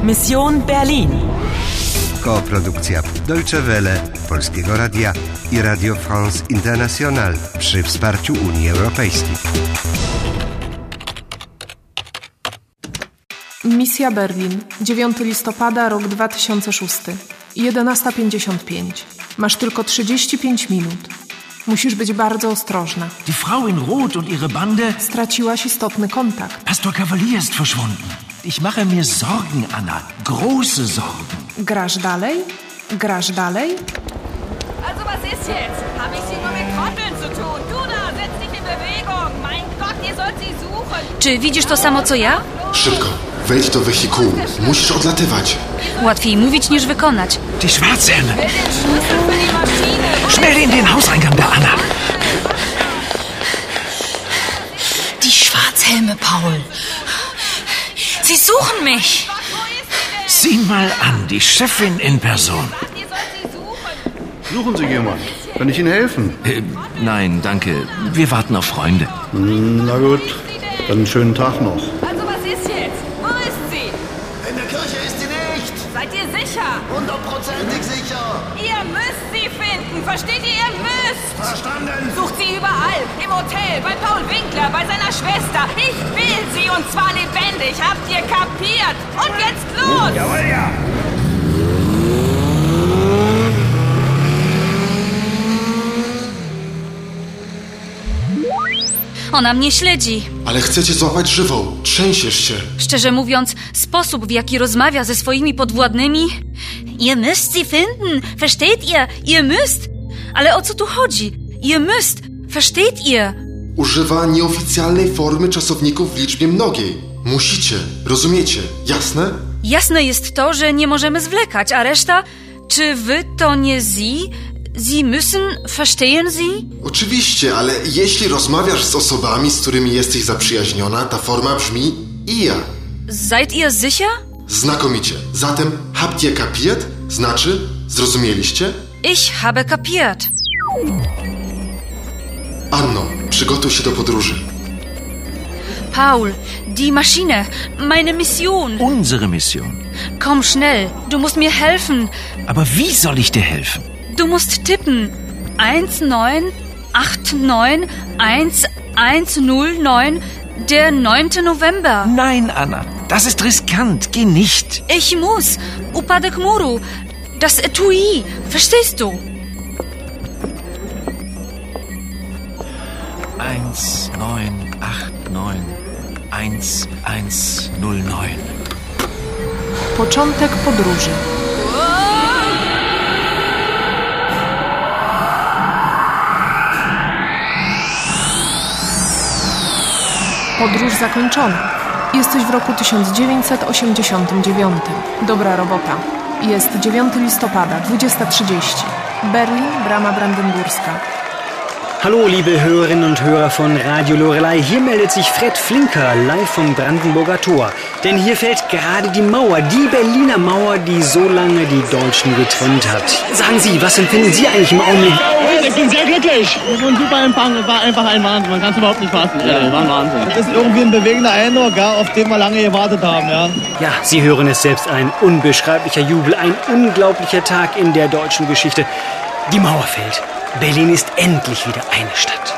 Mission Berlin. Koprodukcja Deutsche Welle, Polskiego Radia i Radio France International przy wsparciu Unii Europejskiej. Misja Berlin, 9 listopada, rok 2006, 11:55. Masz tylko 35 minut. Musisz być bardzo ostrożna. Die Frau in Rot und ihre Bande... Straciłaś istotny kontakt. Pastor Cavalier ist verschwunden. Ich mache mir Sorgen, Anna. Große Sorgen. Grasz dalej? Grasz dalej? Also was ist jetzt? Habe ich Sie nur mit Trotteln zu tun? Du da, setz dich in Bewegung. Mein Gott, ihr sollt sie suchen. Czy widzisz to samo co ja? Szybko, wejdź do wehikułu. Musisz odlatywać. Łatwiej mówić niż wykonać. Die Schwarzhelme. Den Schlüssel für die Maschine. Schnell in den Hauseingang da, Anna. Die Schwarzhelme, Paul. Sie suchen mich. Sieh mal an, die Chefin in Person. Ihr sollt sie suchen. Suchen Sie jemand? Kann ich Ihnen helfen? Nein, danke. Wir warten auf Freunde. Na gut, dann einen schönen Tag noch. Also was ist jetzt? Wo ist sie? In der Kirche ist sie nicht. Seid ihr sicher? 100%ig sicher. Ihr müsst sie finden. Versteht ihr? Ihr müsst. Verstanden. Sucht sie überall. Im Hotel, bei Paul Winkler, bei seiner Schwester. Ich will sie und zwar lebendig. Habt ihr kapiert? Und jetzt los! Jawohl, ja. Ona mnie śledzi. Ale chcę cię złapać żywą. Trzęsiesz się. Szczerze mówiąc, sposób, w jaki rozmawia ze swoimi podwładnymi... Ihr müsst sie finden. Versteht ihr? Ihr müsst. Ale o co tu chodzi? Ihr müsst. Versteht ihr? Używa nieoficjalnej formy czasowników w liczbie mnogiej. Musicie, rozumiecie, jasne? Jasne jest to, że nie możemy zwlekać, a reszta... Czy wy to nie sie? Sie müssen, verstehen Sie? Oczywiście, ale jeśli rozmawiasz z osobami, z którymi jesteś zaprzyjaźniona, ta forma brzmi ihr. Seid ihr sicher? Znakomicie. Zatem habt ihr kapiert? Znaczy, zrozumieliście? Ich habe kapiert. Anno, przygotuj się do podróży. Paul, die Maschine, meine Mission. Unsere Mission. Komm schnell, du musst mir helfen. Aber wie soll ich dir helfen? Du musst tippen. 19891109, der 9. November. Nein, Anna, das ist riskant. Geh nicht. Ich muss. Upadek muru. Das Etui. Verstehst du? 19891109. Początek podróży. Podróż zakończona. Jesteś w roku 1989. Dobra robota. Jest 9 listopada, 20:30. Berlin, Brama Brandenburska. Hallo, liebe Hörerinnen und Hörer von Radio Loreley. Hier meldet sich Fred Flinker live vom Brandenburger Tor. Denn hier fällt gerade die Mauer, die Berliner Mauer, die so lange die Deutschen getrennt hat. Sagen Sie, was empfinden Sie eigentlich im Augenblick? Ich bin sehr glücklich. Das war ein super Empfang. Es war einfach ein Wahnsinn. Man kann es überhaupt nicht fassen. Ja, war ein Wahnsinn. Das ist irgendwie ein bewegender Eindruck, ja, auf den wir lange gewartet haben. Ja. Ja, Sie hören es selbst, ein unbeschreiblicher Jubel, ein unglaublicher Tag in der deutschen Geschichte. Die Mauer fällt. Berlin ist endlich wieder eine Stadt.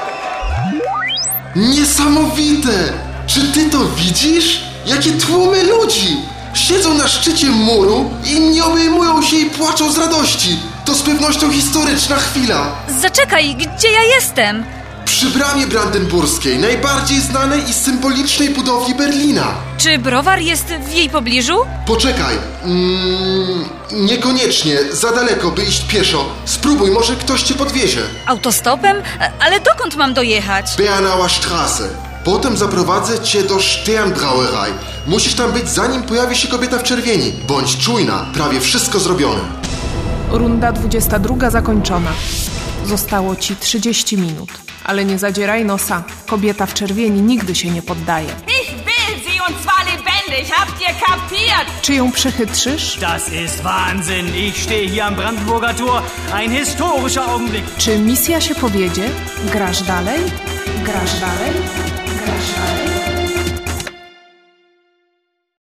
Niesamowite! Czy ty to widzisz? Jakie tłumy ludzi! Siedzą na szczycie muru, inni obejmują się i płaczą z radości. To z pewnością historyczna chwila. Zaczekaj, gdzie ja jestem? Przy Bramie Brandenburskiej, najbardziej znanej i symbolicznej budowli Berlina. Czy browar jest w jej pobliżu? Poczekaj. Niekoniecznie. Za daleko, by iść pieszo. Spróbuj, może ktoś cię podwiezie. Autostopem? Ale dokąd mam dojechać? Bernauer Straße. Potem zaprowadzę cię do Sternbrauerei. Musisz tam być, zanim pojawi się kobieta w czerwieni. Bądź czujna, prawie wszystko zrobione. Runda 22 zakończona. Zostało ci 30 minut. Ale nie zadzieraj nosa. Kobieta w czerwieni nigdy się nie poddaje. Ich will sie und zwar lebendig. Habt ihr kapiert? Czy ją przechytrzysz? Das ist Wahnsinn. Ich stehe hier am Brandenburger Tor. Ein historischer Augenblick. Czy misja się powiedzie? Grasz dalej? Grasz dalej? Grasz dalej?